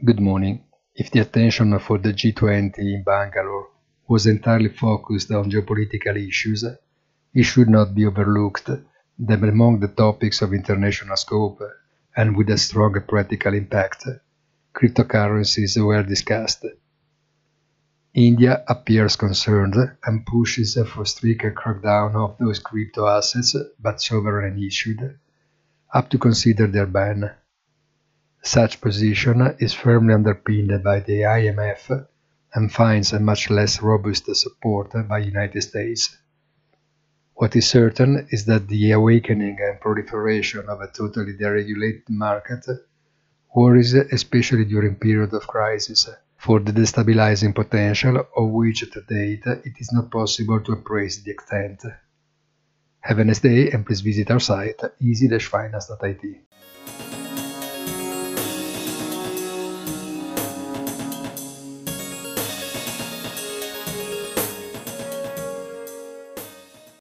Good morning. If the attention for the G20 in Bangalore was entirely focused on geopolitical issues, it should not be overlooked that among the topics of international scope and with a strong practical impact, cryptocurrencies were discussed. India appears concerned and pushes for stricter crackdown of those crypto assets, but sovereign issued, up to consider their ban. Such position is firmly underpinned by the IMF and finds a much less robust support by the United States. What is certain is that the awakening and proliferation of a totally deregulated market worries, especially during periods of crisis, for the destabilizing potential of which to date it is not possible to appraise the extent. Have a nice day and please visit our site easy-finance.it.